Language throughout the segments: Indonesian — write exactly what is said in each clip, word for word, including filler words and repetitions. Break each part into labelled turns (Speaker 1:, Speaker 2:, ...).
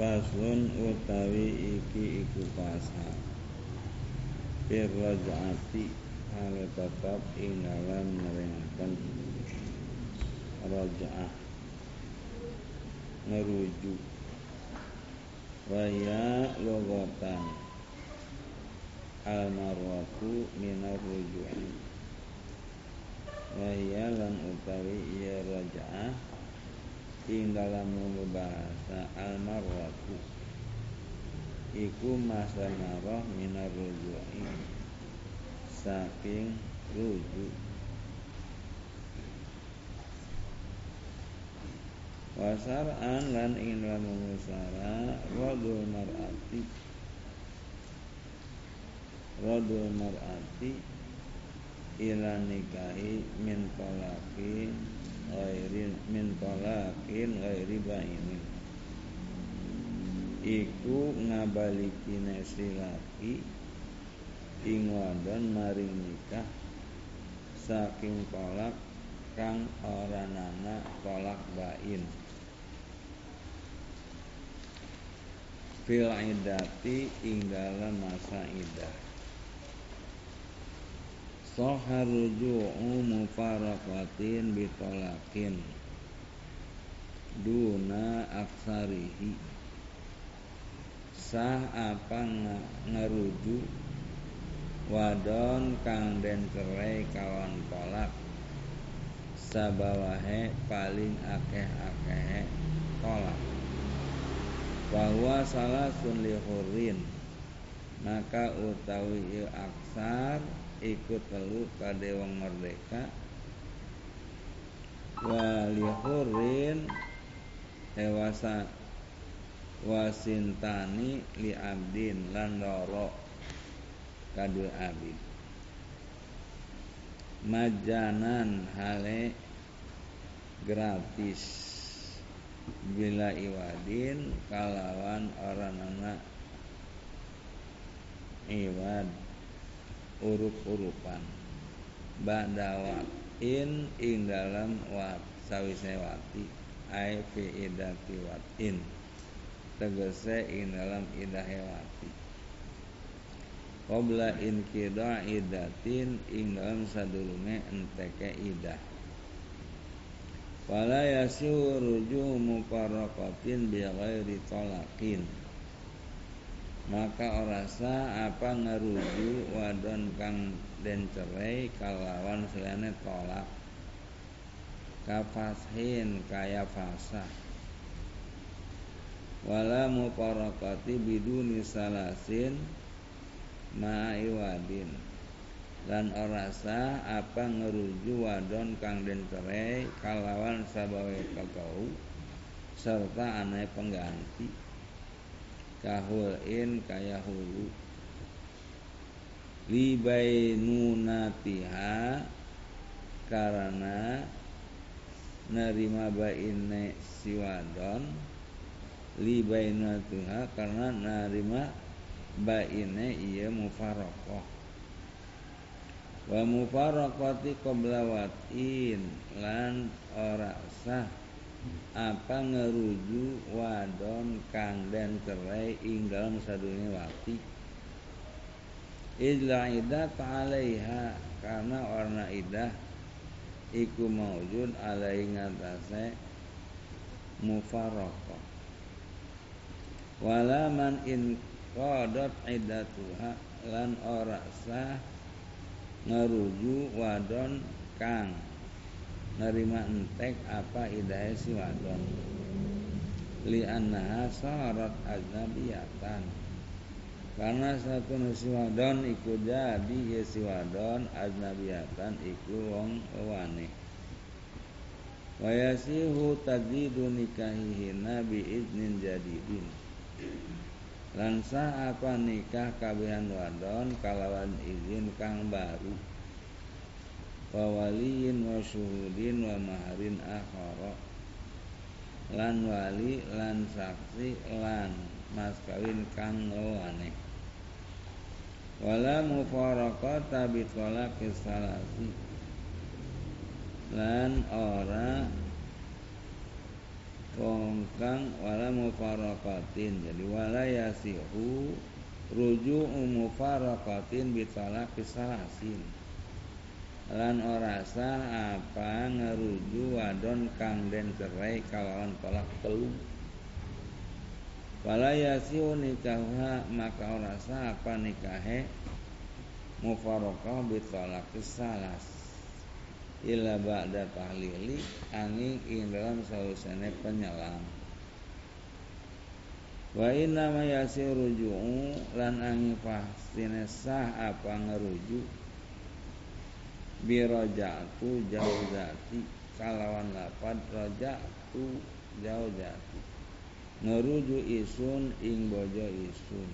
Speaker 1: Faslun utawi iki iku pasal fir raj'ati hale tetap ing dalam neringaken raj'ah ngerujuk waya logatan al marwatu minar ruju'i waya lan utawi iya raj'ah ing dalam bahasa al marwatu iku masa marah minar ruju'i saking rujuk wasar'an lan ing dalam musara radul mar'ati radul mar'ati ila nikahi min talaqin ghairi min talaqin ghairi bainin iku ngabalikine si laki ing wadon maring nikah saking tolak kang ora nana tolak bain fil iddati ing dalam masa iddah sahar ruju'u mufaraqatin bitolaqin duna aksarihi sah apa ngerujuk wadon kang den cerai kawan tolak sabawahe paling akeh-akeh tolak bahwa salah sunli hurrin maka utawi aksar ikut telu kade wong merdeka wali hurrin ewasa wasintani li abdin lan loro kadul abid majanan hale gratis bila iwadin kalawan orang anak iwad urup-urupan ba'dawat in ing dalam wat sawise wati ai fi idati watin tegese ing dalam idah wati qabla in kida idatin ing dalam sadurunge enteke idah wala yasiu ruju mufaraqatin bi ghairi talaqin maka ora sah apa ngeruju wadon kang den cerai kalawan selene tolak kafashin kaya fasah wala mufaraqati biduni salasin ma'iwadin lan ora sah apa ngeruju wadon kang den cerai kalawan sabawe kakau serta anai pengganti kahulin kaya hulu libainunatiha karena nerima baine si wadon libainunatiha karena nerima baine iya mufaraqah wa mufaraqati qabla watin lan ora sah apa ngeruju wadon kang den cerai ing dalam sadurunge wati idla idah ta'alaiha karena warna idah iku maujud alai ngatasé mufaraqah wala man in qadat iddatuha lan ora sah ngeruju wadon kang nerima entek apa idahe si wadon li annaha sarat ajnabiyatan karena satu si wadon iku jadi ya si wadon ajnabiyatan iku wong wane wa yasihu tadidu nikahihina bi idnin jadidin lan sah apa nikah kabehan wadon kalawan izin kang baru wa waliyin wa syuhudin wa maharin akhara lan wali lan saksi lan mas kawin kang ngewane wala mufaraqata bi talaqis salasi lan ora wong kang wala mufaraqatin. Jadi wala yasihu ruju'u mufaraqatin bi talaqis salasin. Lan ora sah apa ngeruju wadon kang den cerai kalawan tolak telu. Wala yasihu nikaha maka ora sah apa nikahe mufaraqah bi talaqis salas. Illa ba'da tahlili angin ing dalam sausane penyelam. Wa inna ma yasihu ruju'u lan angin pastine sah apa ngeruju bi raja'tu jauzati kalawan lapad raja'tu jauzati ngeruju isun ing bojo isun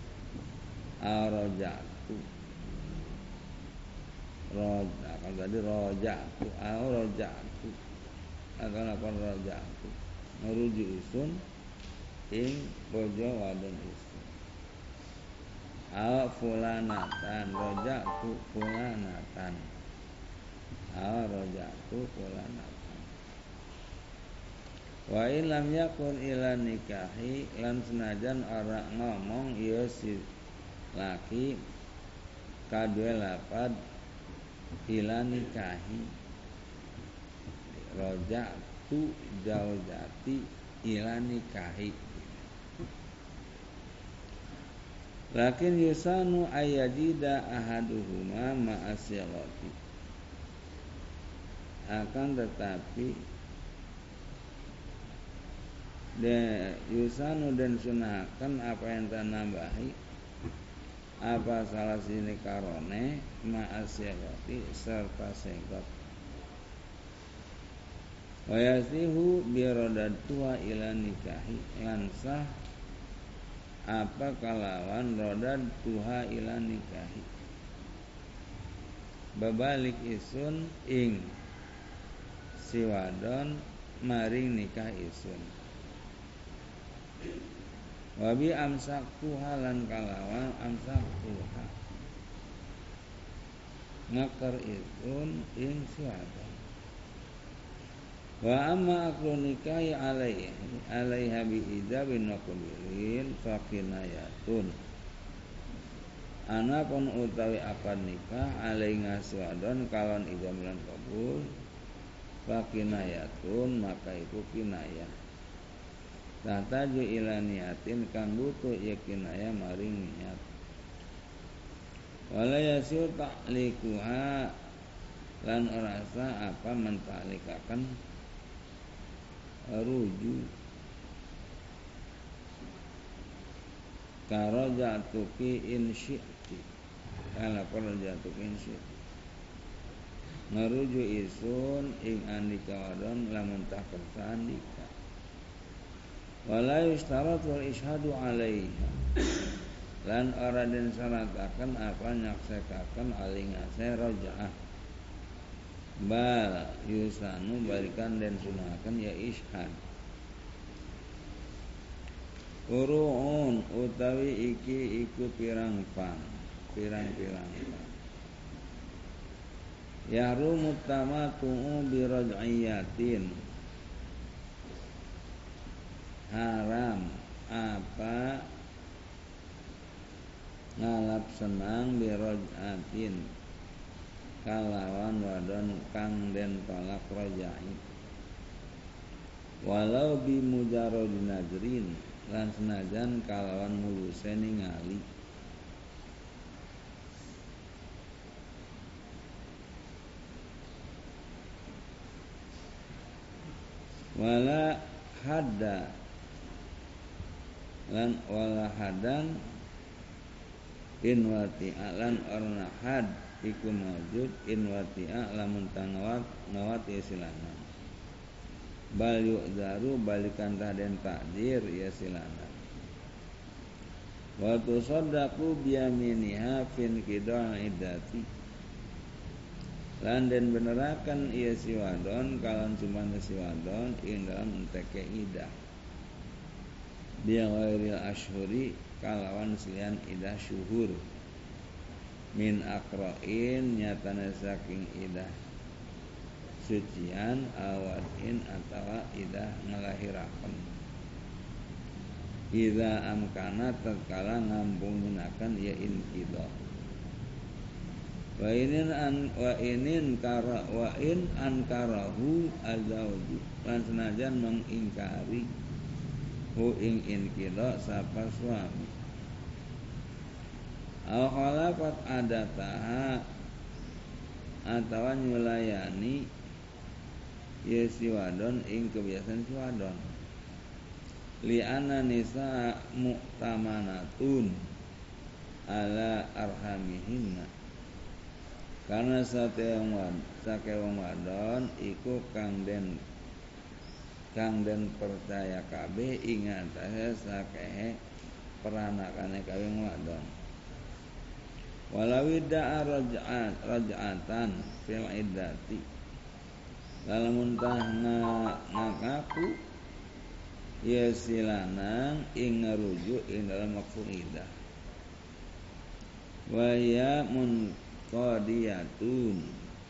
Speaker 1: araja'tu roja kalau tadi raja'tu araja'tu atau lapad raja'tu ngeruju isun ing bojo wadon isun al fulanatan raja'tu fulanatan raja'tu fulanatan. Wa in lam yakun ila nikahi lan senajan ora ngomong ieu si laki kadue lapad ila nikahi raja'tu zaujati ila nikahi. Lakin yusanu ayyajida ahaduhuma ma'asyalati. Akan tetapi de yusanu dan sunahkan apa yang tanambahi apa salah sini karone ma'asyarati serta segot wa yasihu birodatuha ila nikahi lansah apa kalawan rodatuha ila nikahi babalik isun ing si wadon maring nikah isun wabi amsaktuha lan kalawan amsaktuha ngakar isun ing si wadon wa amma aklu nikahi alaihi alaiha bi idabin wa kubilin fakinayatun anapun utawi akad nikah alaihi ngasiwadon kalon ijab lan kabul fakinayatun maka iku kinayah tataju ila niatin kang butuh ya kinayah maring niat wala yasiu ta'likuha lan ora sah apa mentalikakan ruju karo jatuki insyiti kala karo jatuki insyiti ngeruju isun ing andika wadon lamun tak kersa andika wala yustarat wal ishadu alaiha lan ora den syarataken apa nyaksekaken alingase raja'ah bal yusanu balikan den sunahaken ya ishad uruun utawi iki iku pirang pang pirang-pirang pang yahrumu tamatu'u biraj'iyatin haram apa ngalap senang biraj'atin kalawan wadon kang den tolak rajai walau bi mujarradin najrin lan senajan kalawan muluse ningali wala hadda lan wala hadan in wati'a lan orna had iku maujud in wati'a lamun tangawat ngawat ya silanan bal yu'daru balikan taden takdir ya silanan wa tusaddaqu biyaminiha fin qida' iddati lan den benerakan iya si wadon kalan cumane si wadon ing dalam enteke idah biya ghairil ashhuri kalawan selian idah syuhur min akra'in nyatane saking idah sucian awadin atawa idah ngelahiraken. Idza amkana tatkala ngampunginaken ya inqidha. Wa inin an wa inin kara wa in ankarahu azauju lan senajan mengingkari hu ing inqidha sapa suami. Au khalafat adataha atawa nyulayani ya si wadon ing kebiasaan si wadon. Li'anna nisa mu'tamanatun ala arhamihinna, karena sate wong sake wong wadon iku kang den kang den percaya kabeh ing atase sakehe peranakane kabeh wadon. Walau da'a raj'at raj'atan fil iddati, lamun tah ngaku ya silanang ing ngarujuk ing dalam waktu iddah. Wa ya munqadiyatun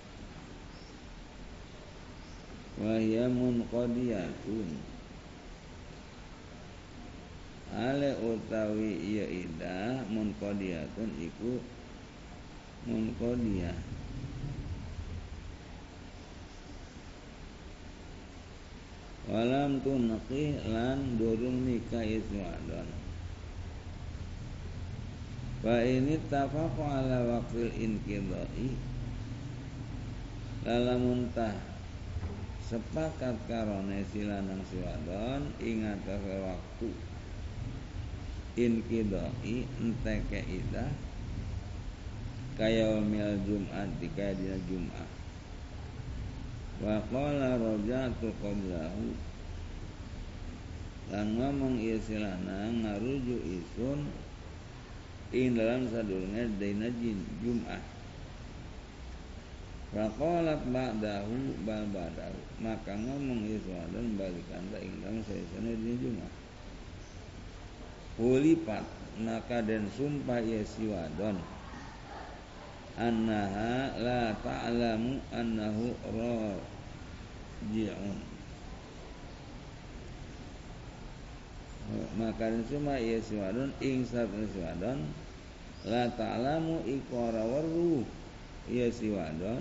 Speaker 1: wa ya munqadiyatun ale utawi ya iddah munqadiyatun iku munqadiyah walam tunqih lan durung nikah iswadon. Fa ini tafaqu ala waqtil inqidai, lalamun tah sepakat karone silanang siwadon ing atase waktu inqidai enteke idah kaya mil Jumat dikaya dina Jumat. Wa qala raja'tu qablahu lan ngomong ieu silanang ngarujuk isun ing dalam sadurunge dina Jumat. Wa qalat ba'dahu bal ba'dahu, maka ngomong ieu wadon balikan ta ing dalam sadurunge dina Jumat. Hulipat maka den sumpah ieu si wadon annaha la ta'lamu annahu raji'un, maka cuma ieu si wadon ing satune si wadon la ta'lamu iku ora weruh ieu si wadon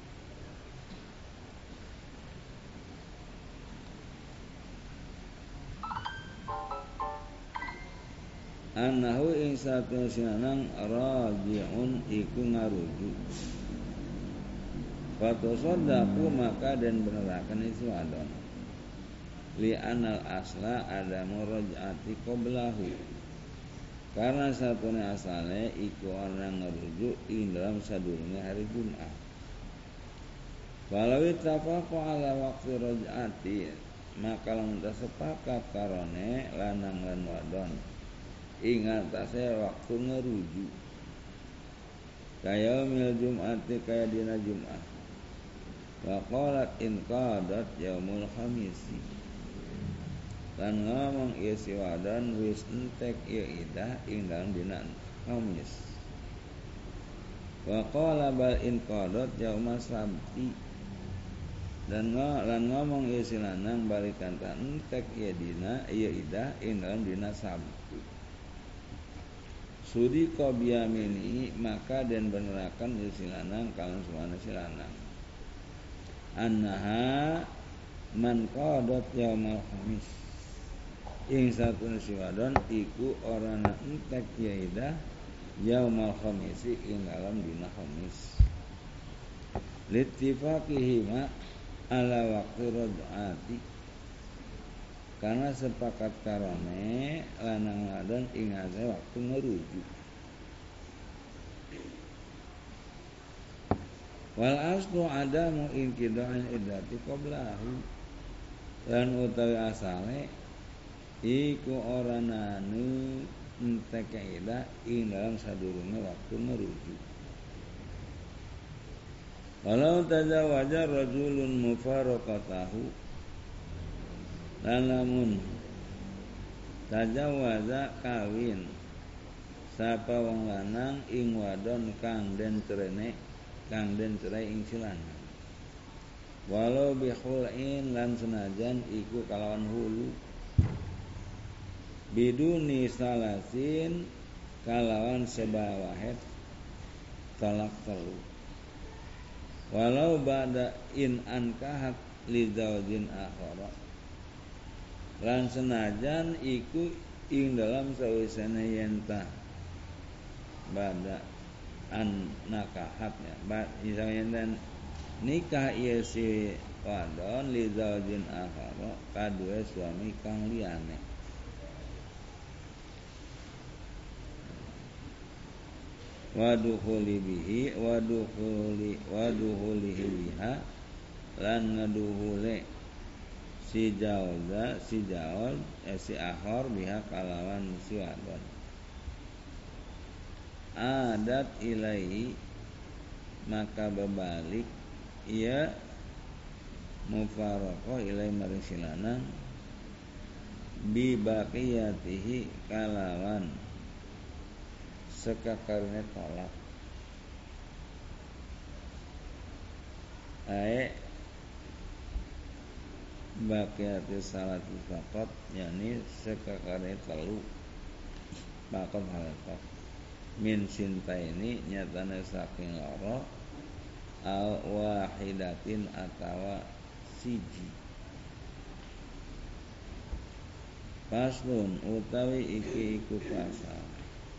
Speaker 1: annahu ing satune sinanang raji'un iku ngarujuk. Fatasaddaqu maka den beneraken isi wadon. Li anal asla adamu raj'ati qablahu, karena satune asale iku orang ngarujuk ing dalam sadurunge hari Jumat. Walau ittafaqu ala waqti raj'ati, maka lamun sepakat karone lanang lan wadon ing atase waktu ngerujuk kaya mil Jum'ati kaya dina Jum'ah. Wa qalat in qadat yaumul khamisi, lan ngomong ieu si wadon wis entek ieu idah ing dalem dina Kamis. Wa qala bal in qadat yaumas sabti, dan lan ngomong ieu si lanang balikan ta entek ieu dina ieu idah ing dalem dina Sabtu. Sudi qobiyamini maka den benerakan ieu silanang kalan suwana silanang annaha man qadat yaumal khamis, ing satune si wadon iku orana entek yaidah yaumal khamisi ing dalam dina Khamis. Littifaqihima ala waqti raj'ati, karena sepakat karone lanang wadon ing ate waktu ngerujuk. Wal aslu adamu inqida'il iddati qablahu, lan utawi asale iku ora nanu entek idah ing dalam sadurunge waktu ngerujuk. Walau tazawaja rajulun mufaraqatahu, lan lamun tajawaza kawin sapa wong lanang ing wadon kang den cerene kang den cerai ing silanang. walau bikhul'in lan senajan iku kalawan hulu biduni salasin kalawan sebawahet talak telu walau ba'da in ankahat li zaujin akhara lan senajan iku ing dalam sawisana yen ta ba'da an nakahat ya ba yen nikah ieu si wadon li zaujin akhara kadue suami kang liyane wadukhuli bihi wadukhuli wadukhuli biha lan ngaduhule si jauza si jaul eh, si akhor biha kalawan si wadon adat ilaihi maka berbalik ia mufaraqah ilai maring silanang bi baqiyatihi kalawan sekakarne tolak ae baqiyati salati faqat yakni sekakarne telu faqat halakat min sintaini nyatane saking loro al wahidatin atawa siji paslun utawi iki iku pasal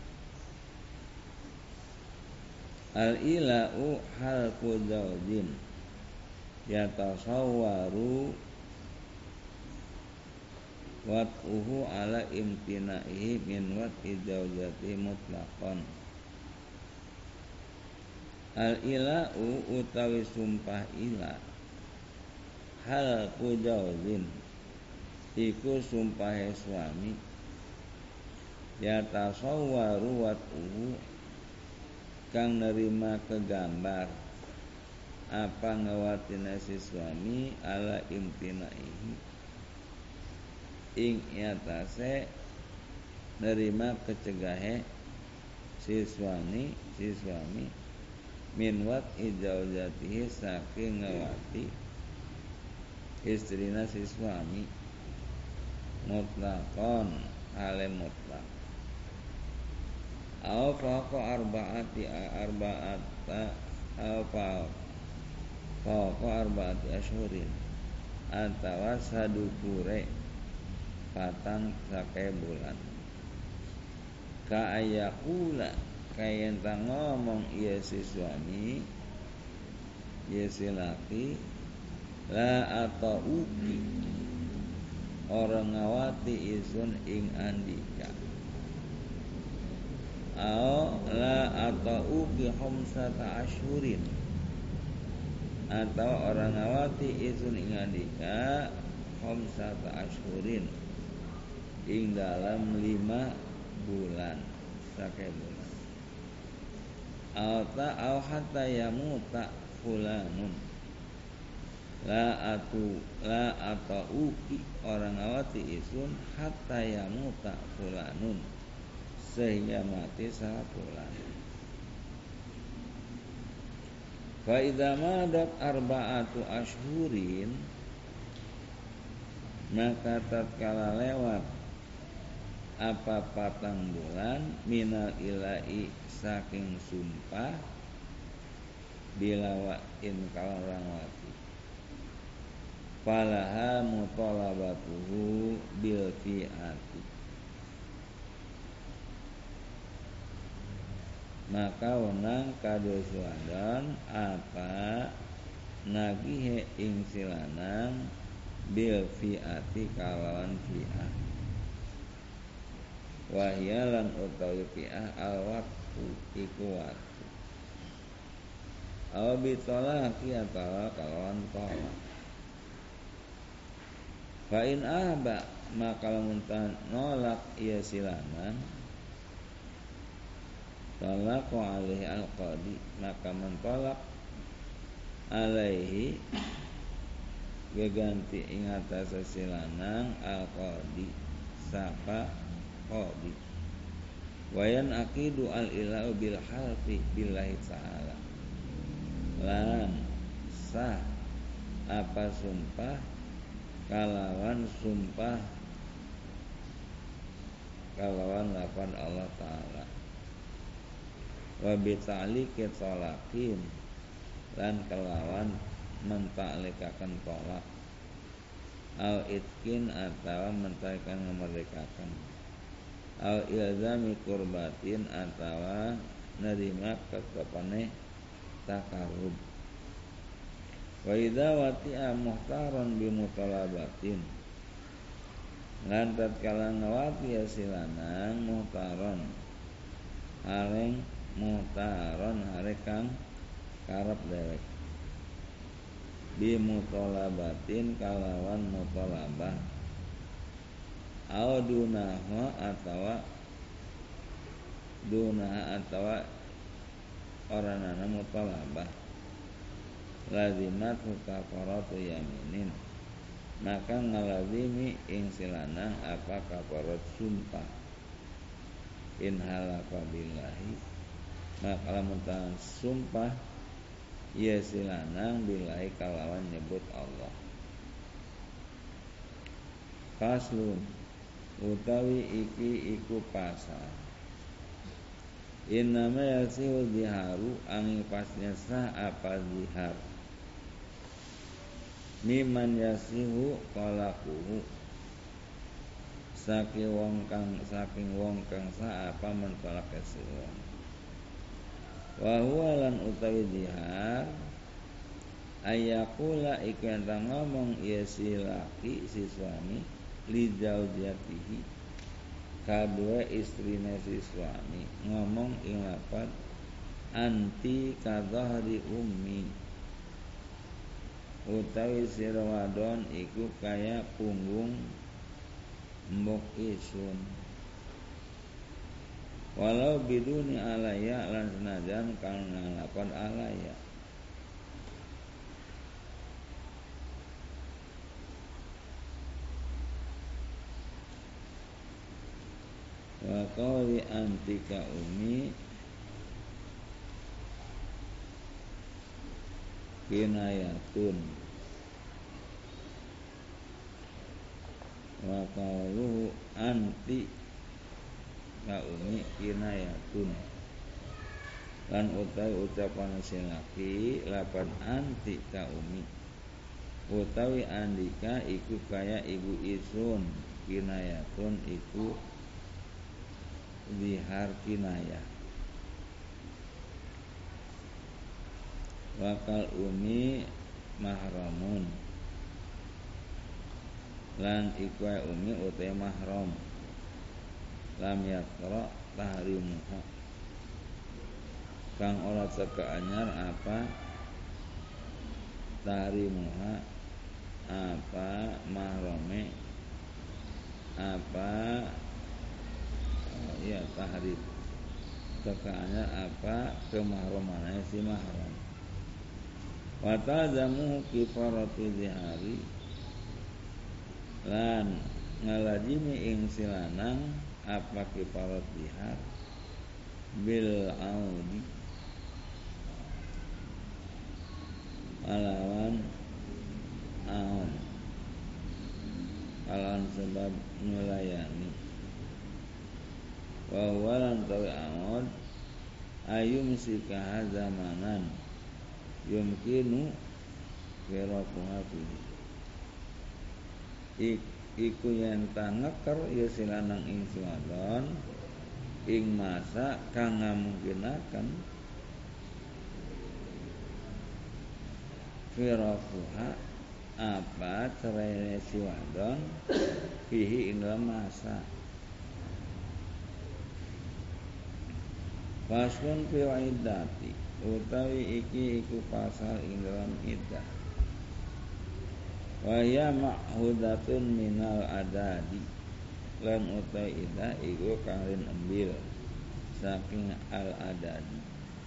Speaker 1: al ilau halqu zaujin yatasawwaru wat'uhu ala imtinaihi min wat'i zaujati mutlaqan al ilau utawi sumpah ila halqu zaujin iku sumpahe suami yatasawwaru wat'uhu kang nerima kegambar apa ngawatina si suami ala imtinaihi ing atase nerima kecegahe si suami si suami min wat ijauzatihi saking ngawati istrina si suami mutlaqon ale mutlak au faqa arba'ati arba'ata au faqa arba'ati asyhurin atawa sadukure patang sake bulan ka ayakula kayen ta ngomong iya si suami iya si laki la atau uki orang ngawati isun ing andika au la atau uki khamsata asyhurin atau orang ngawati isun ing andika khamsata asyhurin ing dalam lima bulan sake bulan Alta au hatta yamuta fulanun la atu la atau uki orang awati isun hatta yamuta fulanun sehingga mati salah fulan. Fa idza madat arba'atu asyhurin maka tatkala lewat apa patang bulan minal ilai saking sumpah bilawa in kalarang wati falaha mutalabatuhu bil fi'ati maka wenang kadua suadan apa nagihe ing silanang bil fi'ati kalawan fi'ah wahyalan utawi fi'ah al waktu iku waktu aw bitolaki atawa kalawan tolak fa in ahba maka lamun nolak ia silanang talaq alaihi al qadi maka mentolak alaihi geganti ing atase silanang al qadi sapa qadi wayan aqidu al ilau bil halfi billahi ta'ala lan sah apa sumpah kalawan sumpah kalawan lapan Allah Ta'ala wa bita'liqi talaqin lan kalawan mentaklikaken tolak au itkin atawa mentaikan memerdekakan au ilzami kurbatin atawa nerima ketepane takarub wa idza wati'a muhtaron bi mutalabatin lan tatkala ngawati silanang muhtaron areng muhtaron arek kang karep dewek bi mutalabatin kalawan mutalabah au dunaha atawa dunaha atawa oranana mutalabah lazimat kafaratu yaminin maka ngalazimi ing silanang apa kafarat sumpah in halafa billahi maka lamun sumpah ya silanang billahi kalawan nyebut Allah. Faslun utawi iki iku pasal innama yasihu ziharu angin pasnya sah apa zihar miman yasihu qalaquhu saking wong kang saking wong kang sah apa mentolak kesuwun wa huwa lan utawi zihar ayakula iku enten ngomong ya si laki si suami li zaujatihi kadua istrine si suami ngomong ing lapat anti kadhahri ummi utawi sira wadon iku kaya punggung mbok isun walau biduni alaya lan senajan kang ngalakon alaya wa qawli antika umi kinayatun wa qawluhu anti ka umi kinayatun lan utawi ucapan sing laki lapan anti ka umi utawi andika iku kaya ibu isun kinayatun iku zihar kinayah wakal umi mahramun lan iku umi utawi mahram lam yaqra tahrimuha kang ora teka anyar apa tahrimuha apa mahrame apa oh, ya tahrim teka anyar apa kemahramannya si mahram wa tazamu kifaratu zihari lan ngalajimi ing silanang apa kifarat zihar bil audi alawan aon alawan sebab melayani wa walan tawi aon ayum sikaha zamanan yumkinu kirakuha fihi Ik, iku yen tangeker ya silanang ing suwadon ing masa kang ngamungkinaken firakuha apa cerai si wadon fihi ing dalam masa faslun fi iddati utawi iki iku pasal ing dalam iddah wa ya ma'hudatun minal adadi lan utai ida iku kang rin embil saking al adadi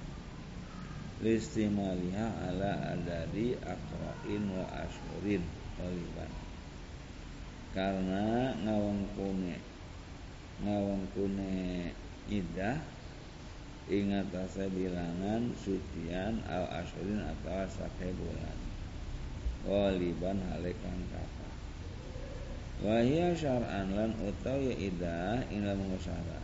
Speaker 1: listimaliha ala adadi aqra'in wa ashurin qaliban karena ngawengkune ngawengkune ida ing atase bilangan sucian al ashurin atau sakai bulan Ghaliban halekan kata wa hiya syar'an lan utawi idah ina mengusara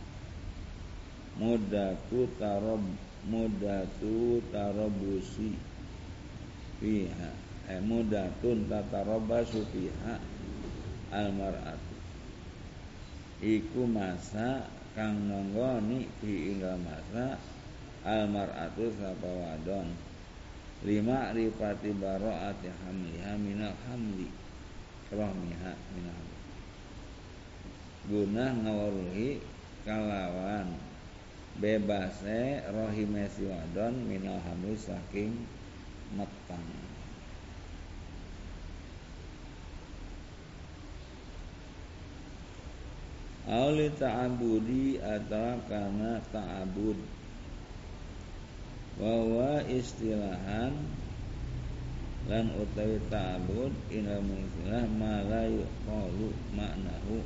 Speaker 1: mudatu tarab mudatu tarabusi fiha eh mudatun tatarabasu fiha almar'atu iku masa kang nonggoni fi ing masa almar'atu sapa wadon lima rifati bara'ati hamliha minal hamli rohmiha minal guna ngawaruhi kalawan bebase rohime si wadon minal hamli saking metang auli ta'abudi atau karena ta'abud wa istilahan lan utawi ta'abud ila istilah ma la yuqalu maknahu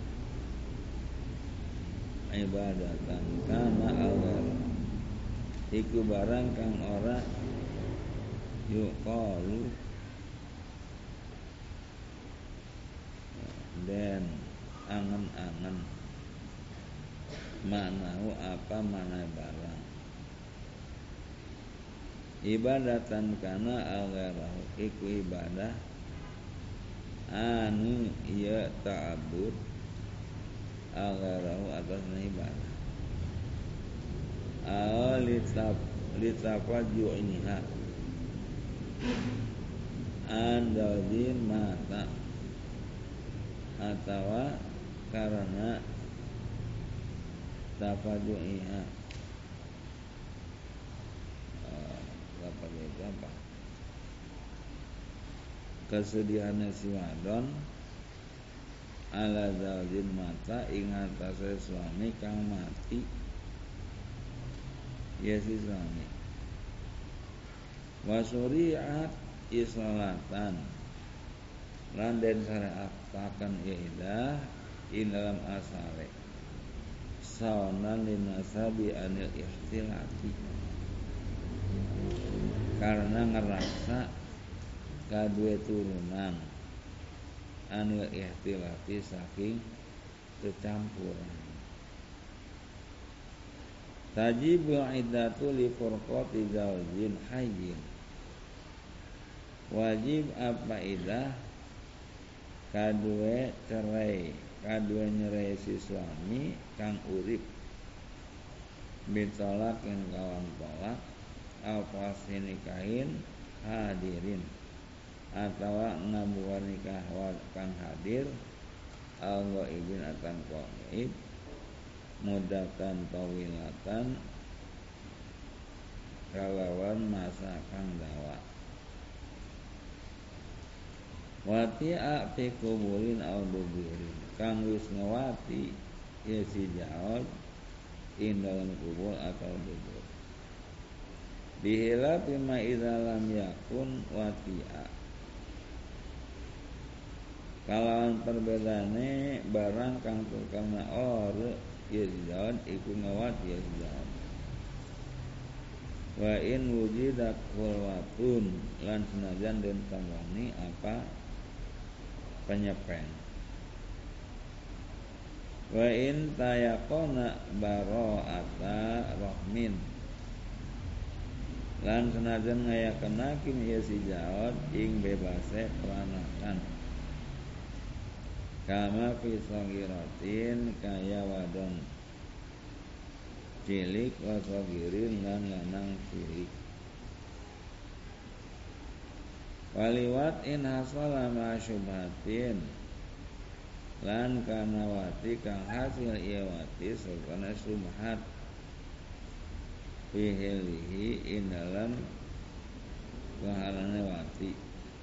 Speaker 1: ibadatan kana awal iku barang kang ora yuqalu dan angen-angen maknahu apa mana barang ibadatan kana al-gharahu iku ibadah anu iya ta'abud al-gharahu atasna ibadah al-litab litafaju iniha andalin mata atawa karena tafaju iha apa itu apa kesedihan si wadon ala zaujin mata ing atase suami kang mati ya si suami wa syuri'at isolatan lan den syariataken idah ing dalam asale saonan linasabi anil ikhtilati karena ngerasa kadue turunan anil ihtilati saking kecampuran tajibul iddatu li furqati zaujin hayyin wajib apa idah kadue cerai kadue nyerai si suami kang urip bitolak yang kawan tolak alfasi nikahin hadirin atawa ngabuar nikah kang hadir al ghaibin atan ghaib mudatan tawilatan kalawan masa kang dawa wati'a fi kubulin au duburin kang wis ngawati ya si jawab in dalam kubul atau dubur bihila bima idza lam yakun wati'a kalawan perbedane barang kang tukana or ya jawab iku ngawati ya jawab wa in wujidat khulwatun lan senajan den tamani apa penyepeng wa in tayaqona bara'ata rahmin lan senajan ngayakenakin ieu si jaot ing bebase peranakan kama fi sagiratin kaya wadon cilik wa sagirin lan lanang cilik waliwat in hasala ma syubhatin lan kana wati kang hasil iya wati sartana subhat fihilihi in dalam kehalane wati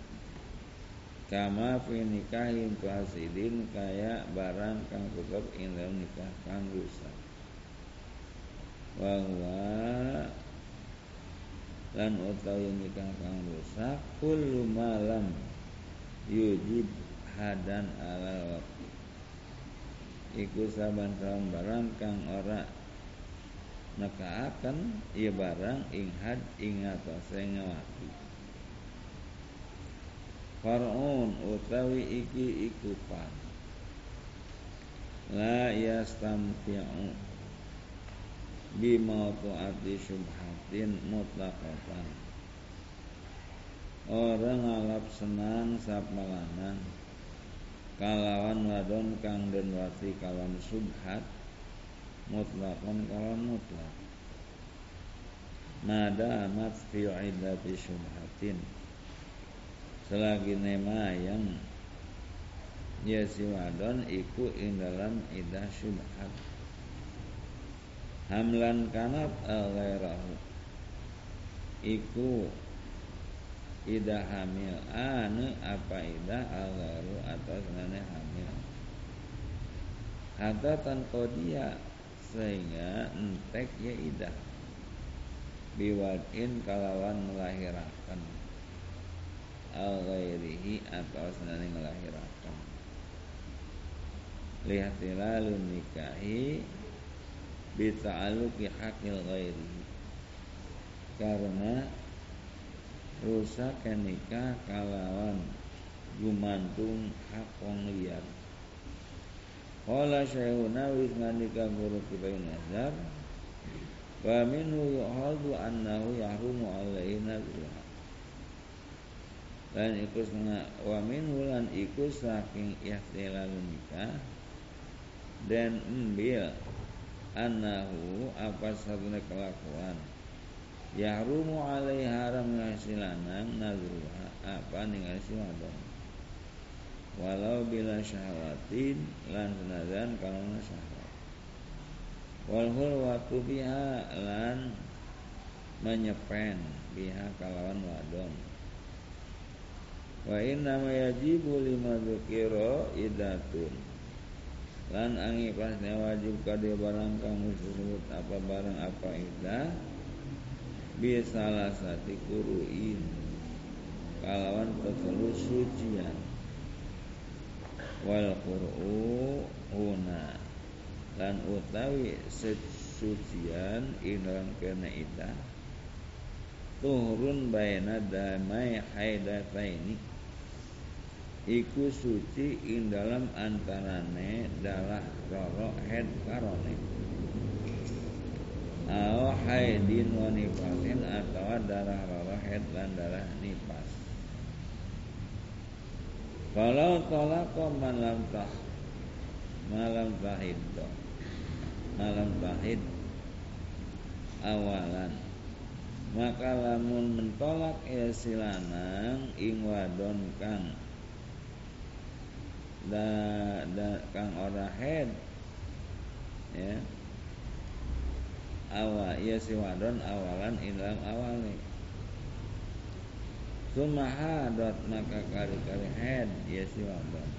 Speaker 1: kama fi nikahin fasidin kaya barang kang tetep ing dalam nikah kang rusak wa huwa lan utawi nikah kang rusak kullu malam yujib hadan ala waqti iku saban-saban barang kang ora nekaaken ieu barang ing had ing atase ngawati far'un utawi iki ikupan la yastamti'u bimautu'ati syubhatin mutlaqatan orang ngalap senang sapa lanang kalawan wadon kang den wati kalawan subhat mutlaqan kalawan mutlaq mada amat fi iddati syubhatin selagi nemayang ya si wadon iku ing dalam idah syubhat hamlan kanat al-ghairahu iku idah hamil anu apa idah al-ghairu atau senane hamil hatta tanqodiya sehingga entek ya idah biwadin kalawan melahirakan al-ghairihi atau senane melahirakan lihtilalun nikahi bita'aluki hakil ghairi karena rusak nikah kalawan gumantung hak wong liya qala syaihuna wis ngandika guru kita nazar wa minhu yu'hadu annahu yahrumu alaihi nazruha dan iku setengah wa minhu lan iku saking ihtilalun nikah dan ambil annahu apa satunya kelakuan yahrumu alaihi haram ngasilanang nazruha apa ningasi wadon walau bila syahwatin lan senajan kalana syahwat wal hulwatu biha lan menyepen biha kalawan wadon wa inna ma yajibu lima dzukira idatun lan angi pasnya wajib kade barang kang disebut apa barang apa idah bisalah sati kuruin kalawan tetelu sucian wal qur'u huna lan utawi sucian ing dalam kena idah tuhurun baina damai haidataini iku suci ing dalam antarane darah roro head karone au haidin wa nifasin atau darah roro head dan darah nifas kalau tolako malam tah malam tahid malam tahid awalan maka lamun mentolak ya silanang ing wadon kang da, da kang ora head ya awal ya si wadon awalan ilam awali sumahadat maka kali-kali head ya si wadon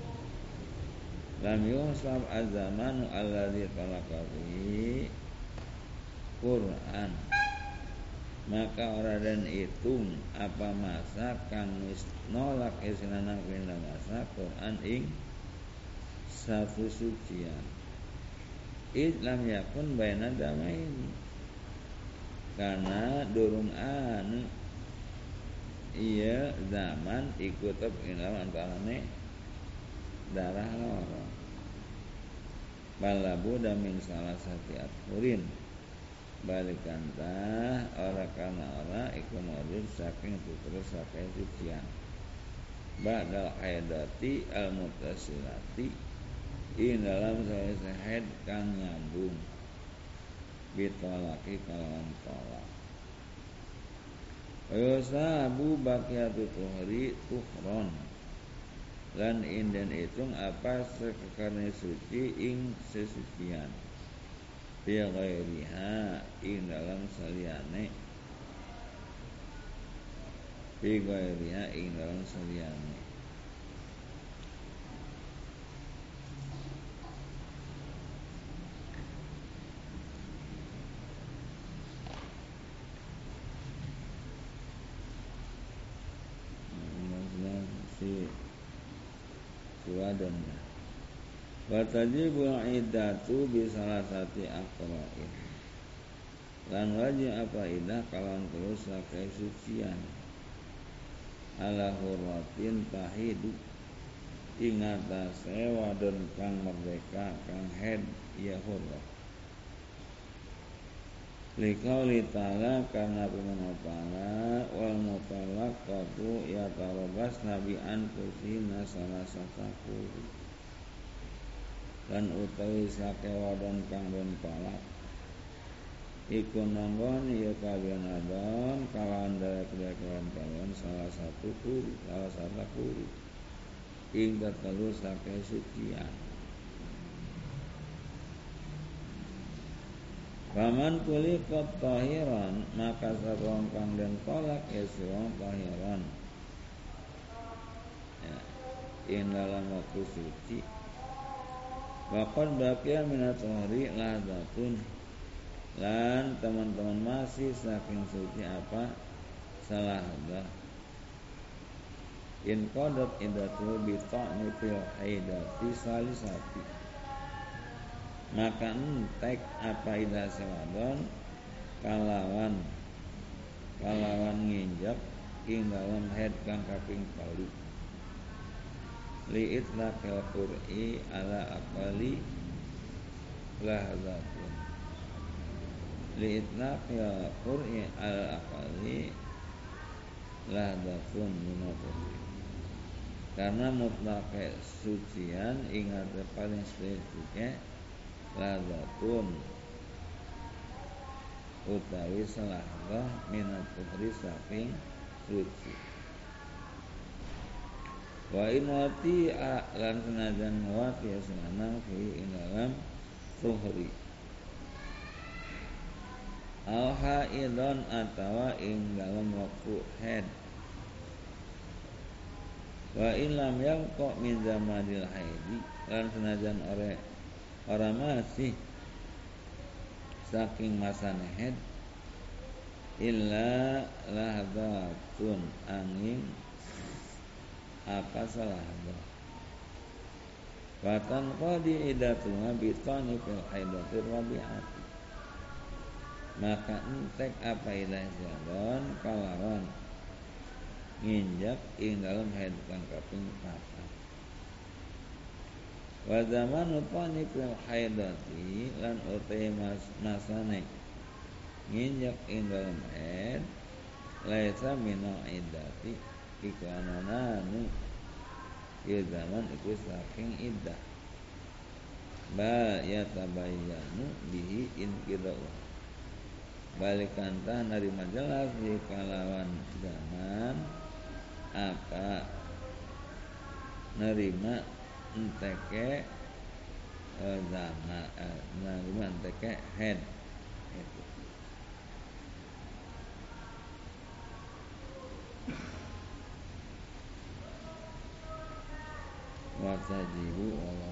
Speaker 1: lam yusab azamanu alladzi talaqahi Quran maka ora den hitung apa masa kang wis nolak isinana kena masa Quran ing satu sucian Islam yakun baina damain karena durung anu iya zaman ikut tetep ing antarane darah loro balabu damin salah satu aturin balikantah ora kana ora iku modul saking putra saking sucian ba'dal haidati al mutasilati in dalam saya haid kang nyambung bitolaki kalawan tolak wasabu baqiyatu tuhri tuhron lan inden itung apa sekekarne suci ing sesucian bi ghairiha ing dalam saliyane bi ghairiha ing dalam saliyane si suwadon wa tajibul iddatu bi salasati aqra'in lan wajib apa idah kalan terus sakai sucian ala hurratin tahidu ing atase wadon kang merdeka kang haid ya hurrah. Liqauli ta'ala karena firman ta'ala wal mutallaqatu yatarabasna bi anfusina salasata quru lan utawi sake wadon kang den talak iku nanggon ya kabian adon kalawan derek-derek kalawan salah satu kuru salah satu kuru ing tetelu sake sucian. Paman kuli kot tahiran maka sarong kang den tolak ya sarong tahiran ya, ing dalam waktu suci waqad baqiya minat tahri ladatun lan teman-teman masih saking suci apa salah dah in qadat idatu bi ta'ni fil haidati salisati maka entek apa idah sewadon kalawan kalawan nginjak ing dalam haid kang kaping kali li itlaqil qur'i ala aqali lahzatun li itlaqil qur'i ala aqali lahzatun minatuh karena mutlak sucian ingat paling sedikit lazatun utawi salahlah minat tuhri saking suci wa in wati lan senajan wati asmanang fi ing dalam tuhri al haidon atawa ing dalam waktu haid wa in lam yalqa min zamanil haidi lan senajan ore orang masih saking masa haid illa lahdatun angin apa salah dah fatan qadi idatuna bitani fil haidatir rabi'ati maka entek apa ilah jadon kalawan nginjak ing dalam haid kang kaping papat wa zamanu tani fil haidati lan utai mas masane nginjak ing dalam haid laisa minal iddati iku anananu ya zaman iku saking iddah bal yatabayyanu bihi inqidau balikan tah narima jelas di kalawan zaman apa nerima enteke eh, zaman eh, nerima enteke head itu watajibu